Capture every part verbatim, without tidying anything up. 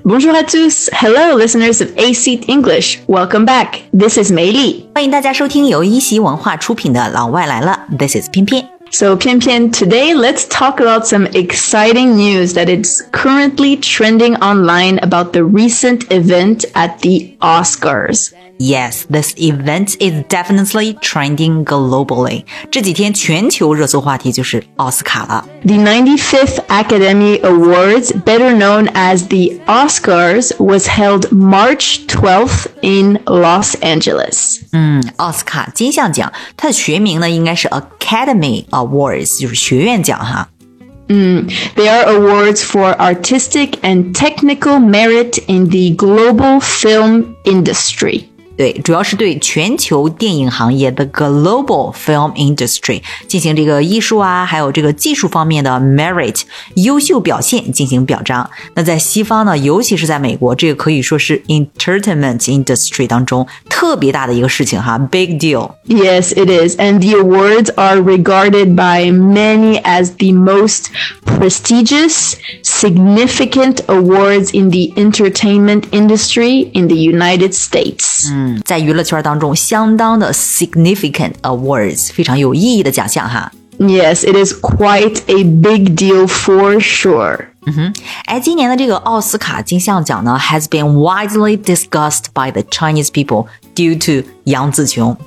Bonjour à tous. Hello, listeners of A C English. Welcome back. This is 梅丽。 欢迎大家收听由一席文化出品的《老外来了》。This is 偏偏。 So, Pian Pian, today let's talk about some exciting news that is currently trending online about the recent event at the Oscars. Yes, this event is definitely trending globally. 这几天全球热搜话题就是奥斯卡了。 The ninety-fifth Academy Awards, better known as the Oscars, was held March twelfth in Los Angeles. 嗯，奥斯卡金像奖，它的学名呢应该是 Academy Awards， 就是学院奖哈。 Mm, they are awards for artistic and technical merit in the global film industry. 对，主要是对全球电影行业的 global film industry 进行这个艺术啊，还有这个技术方面的 merit 优秀表现进行表彰。那在西方呢，尤其是在美国，这个可以说是 entertainment industry 当中特别大的一个事情哈 ，big deal. Yes, it is. And the awards are regarded by many as the most prestigious, significant awards in the entertainment industry in the United States. 嗯，在娱乐圈当中相当的 significant awards， 非常有意义的奖项哈。 Yes, it is quite a big deal for sure. 嗯哼，哎，今年的这个奥斯卡金像奖呢 has been widely discussed by the Chinese people due to 杨紫琼。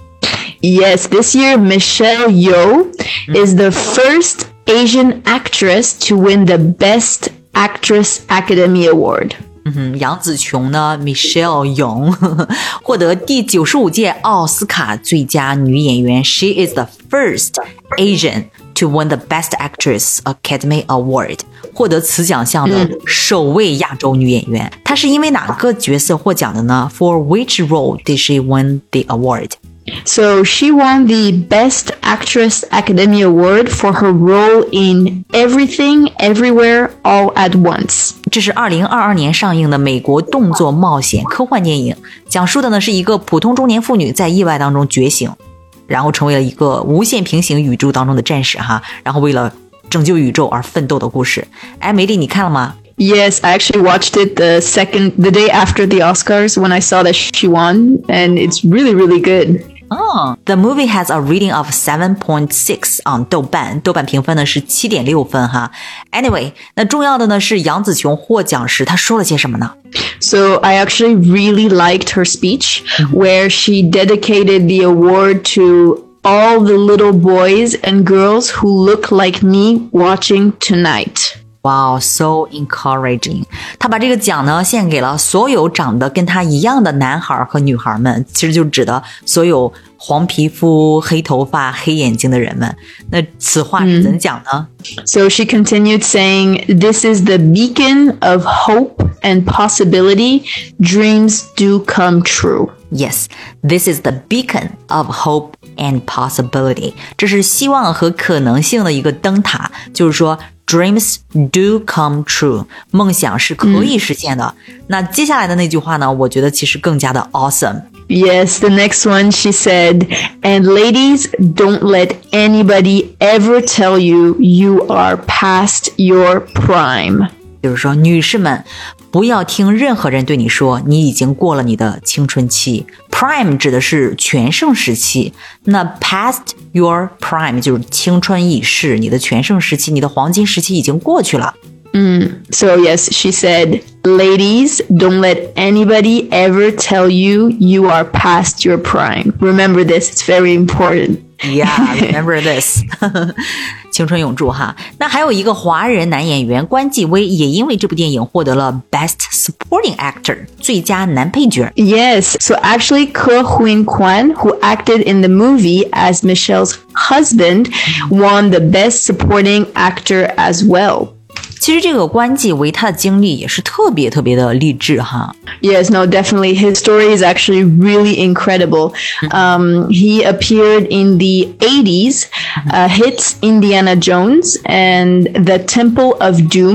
Yes, this year Michelle Yeoh is the first Asian actress to win the Best Actress Academy Award. 嗯哼，杨紫琼呢 Michelle Yeoh 获得第九十五届奥斯卡最佳女演员 She is the first Asian to win the Best Actress Academy Award 获得此奖项的首位亚洲女演员、嗯、她是因为哪个角色获奖的呢？ For which role did she win the award? So she won the Best Actress Academy Award for her role in Everything, Everywhere, All at Once. 这是二零二二年上映的美国动作冒险科幻电影，讲述的呢是一个普通中年妇女在意外当中觉醒，然后成为了一个无限平行宇宙当中的战士哈，然后为了拯救宇宙而奋斗的故事。哎，梅丽，你看了吗 ？Yes, I actually watched it the second, the day after the Oscars when I saw that she won, and it's really, really good.Oh, the movie has a rating of seven point six on 豆瓣，豆瓣评分呢是 七点六 分哈。Anyway, 那重要的呢是杨紫琼获奖时她说了些什么呢？ So I actually really liked her speech, mm-hmm. where she dedicated the award to all the little boys and girls who look like me watching tonight.Wow, so encouraging. 他把这个奖呢献给了所有长得跟他一样的男孩和女孩们，其实就指的所有黄皮肤、黑头发、黑眼睛的人们。那此话是怎讲呢、 嗯、So she continued saying, This is the beacon of hope and possibility. Dreams do come true. Yes, this is the beacon of hope and possibility. 这是希望和可能性的一个灯塔，就是说Dreams do come true. 梦想是可以实现的、嗯、那接下来的那句话呢我觉得其实更加的 awesome. Yes, the next one she said, And ladies, don't let anybody ever tell you you are past your prime. 就是说女士们不要听任何人对你说你已经过了你的青春期。 Prime 指的是全盛时期，那 past your prime 就是青春已逝，你的全盛时期，你的黄金时期已经过去了。 Mm. So yes, she said, Ladies, don't let anybody ever tell you you are past your prime. Remember this, it's very important.Yeah, remember this. 青春永驻哈。那还有一个华人男演员关继威也因为这部电影获得了 Best Supporting Actor 最佳男配角。 Yes, so actually Ke Huy Quan, who acted in the movie as Michelle's husband, won the Best Supporting Actor as well. 其实这个关继威他的经历也是特别特别的励志哈。 Yes, no, definitely. His story is actually really incredible. Um, he appeared in the eighties uh, hits Indiana Jones and The Temple of Doom,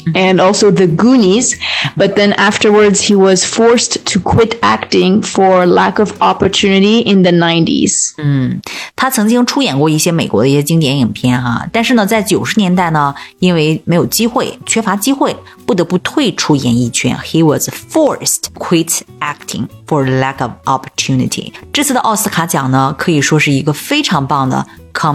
and also The Goonies. But then afterwards, he was forced to quit acting for lack of opportunity in the nineties. 嗯，他曾经出演过一些美国的一些经典影片哈，但是呢，在九十年代呢，因为没有机会，缺乏机会，不得不退出演艺圈。He was forced quit acting for lack of opportunity. 这次的奥斯卡奖呢，可以说是一个非常棒的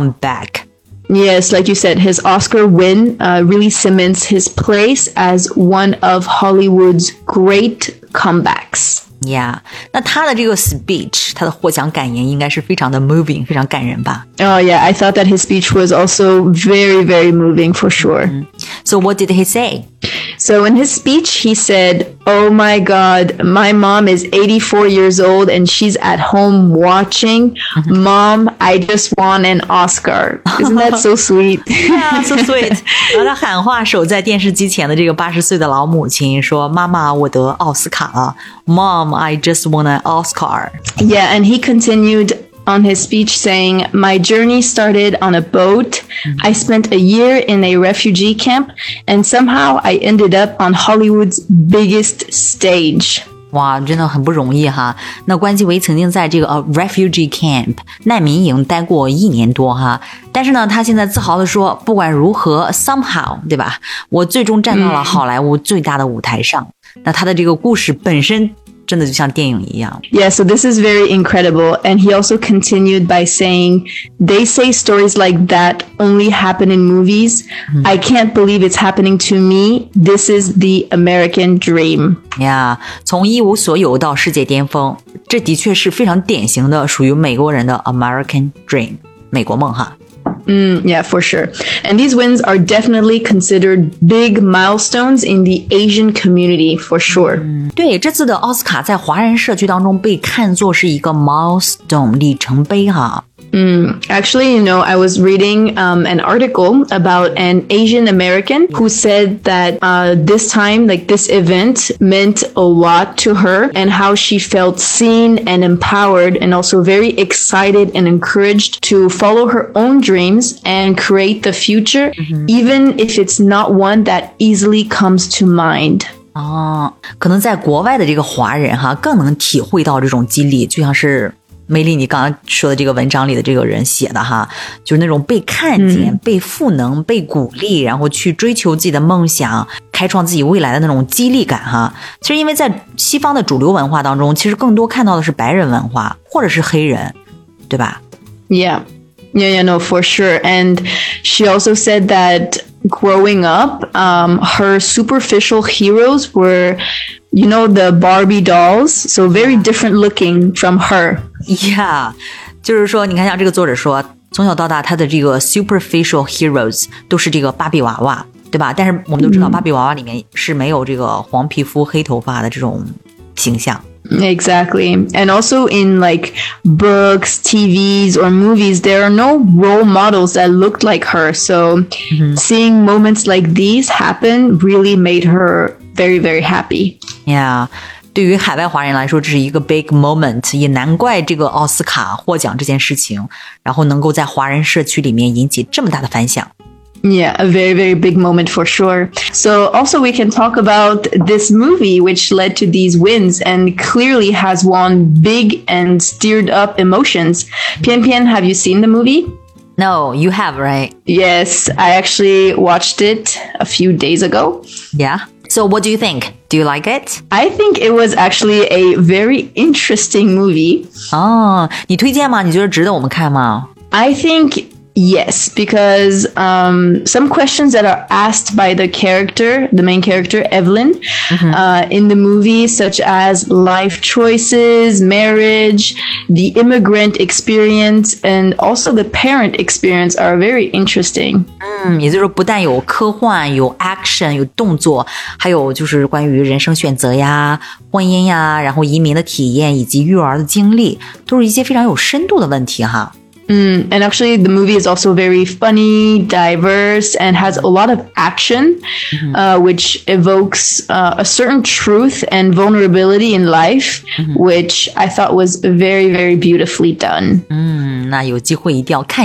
comeback.Yes, like you said, his Oscar win uh, really cements his place as one of Hollywood's great comebacks. Yeah, 那他的这个 speech, 他的获奖感言应该是非常的 moving, 非常感人吧？ Oh yeah, I thought that his speech was also very, very moving for sure. Mm-hmm. So what did he say? So in his speech, he said, "Oh my God, my mom is eighty-four years old and she's at home watching. Mm-hmm. Mom, I just won an Oscar." Isn't that so sweet? Yeah, so sweet. 然后他喊话守在电视机前的这个八十岁的老母亲说：“妈妈，我得奥斯卡了。Mom, I just won an Oscar." Yeah, and he continued.On his speech saying, "My journey started on a boat. I spent a year in a refugee camp, and somehow I ended up on Hollywood's biggest stage." 哇，真的很不容易哈。那关继威曾经在这个、uh, refugee camp 难民营待过一年多哈，但是呢，他现在自豪地说，不管如何 ，somehow 对吧？我最终站到了好莱坞最大的舞台上。嗯、那他的这个故事本身。真的就像电影一样。 Yeah, so this is very incredible. And he also continued by saying, "They say stories like that only happen in movies. Mm-hmm. I can't believe it's happening to me. This is the American dream." Yeah, 从一无所有到世界巅峰，这的确是非常典型的属于美国人的 American dream, 美国梦哈。 Mm, yeah, for sure. And these wins are definitely considered big milestones in the Asian community, for sure. 对，这次的奥斯卡在华人社区当中被看作是一个 milestone 里程碑哈。 Mm, actually, you know, I was reading um, an article about an Asian American who said that uh, this time, like this event meant a lot to her and how she felt seen and empowered and also very excited and encouraged to follow her own dreams and create the future, mm-hmm. even if it's not one that easily comes to mind. 哦，可能在国外的这个华人哈，更能体会到这种激励，就像是梅丽你刚刚说的这个文章里的这个人写的哈，就是那种被看见、嗯、被赋能、被鼓励，然后去追求自己的梦想，开创自己未来的那种激励感哈。其实因为在西方的主流文化当中，其实更多看到的是白人文化或者是黑人，对吧？ Yeah. Yeah, yeah, no, for sure. And she also said that growing up, um, her superficial heroes were, you know, the Barbie dolls, so very different looking from her. Yeah, 就是说，你看像这个作者说，从小到大他的这个 superficial heroes 都是这个芭比娃娃，对吧？但是我们都知道，芭比娃娃里面是没有这个黄皮肤、黑头发的这种形象。 Exactly. And also in like books, T Vs, or movies, there are no role models that looked like her. So mm-hmm. seeing moments like these happen really made her very, very happy. Yeah. 对于海外华人来说，这是一个 big moment， 也难怪这个奥斯卡获奖这件事情，然后能够在华人社区里面引起这么大的反响。 Yeah, a very, very big moment for sure. So also we can talk about this movie which led to these wins and clearly has won big and stirred up emotions. Pian Pian, have you seen the movie? No, you have, right? Yes, I actually watched it a few days ago. Yeah? So what do you think? Do you like it? I think it was actually a very interesting movie. 哦，你推荐吗？你觉得值得我们看吗？ I think...Yes, because um, some questions that are asked by the character, the main character, Evelyn, mm-hmm. uh, in the movie, such as life choices, marriage, the immigrant experience, and also the parent experience are very interesting. 嗯，也就是说不但有科幻，有 action， 有动作，还有就是关于人生选择呀、婚姻呀，然后移民的体验以及育儿的经历，都是一些非常有深度的问题哈。 Mm, and actually, the movie is also very funny, diverse, and has a lot of action, mm-hmm. uh, which evokes uh, a certain truth and vulnerability in life, mm-hmm. which I thought was very, very beautifully done. 嗯，那有机会一定要看一下。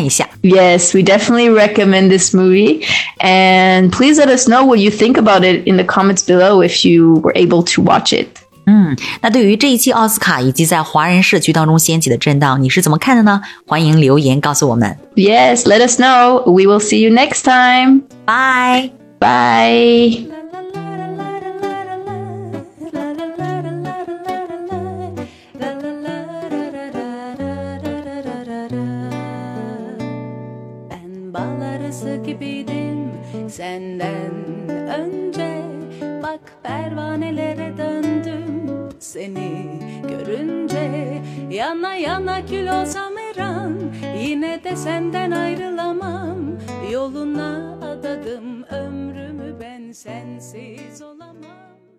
Yes, we definitely recommend this movie. And please let us know what you think about it in the comments below if you were able to watch it. 嗯，那对于这一期奥斯卡以及在华人社区当中掀起的震荡，你是怎么看的呢？欢迎留言告诉我们。 Yes, let us know. We will see you next time. Bye. Bye. Gibiydim senden önce, bak pervanelere döndüm seni görünce. Yana yana kül olsam her an, yine de senden ayrılamam. Yoluna adadım ömrümü, ben sensiz olamam.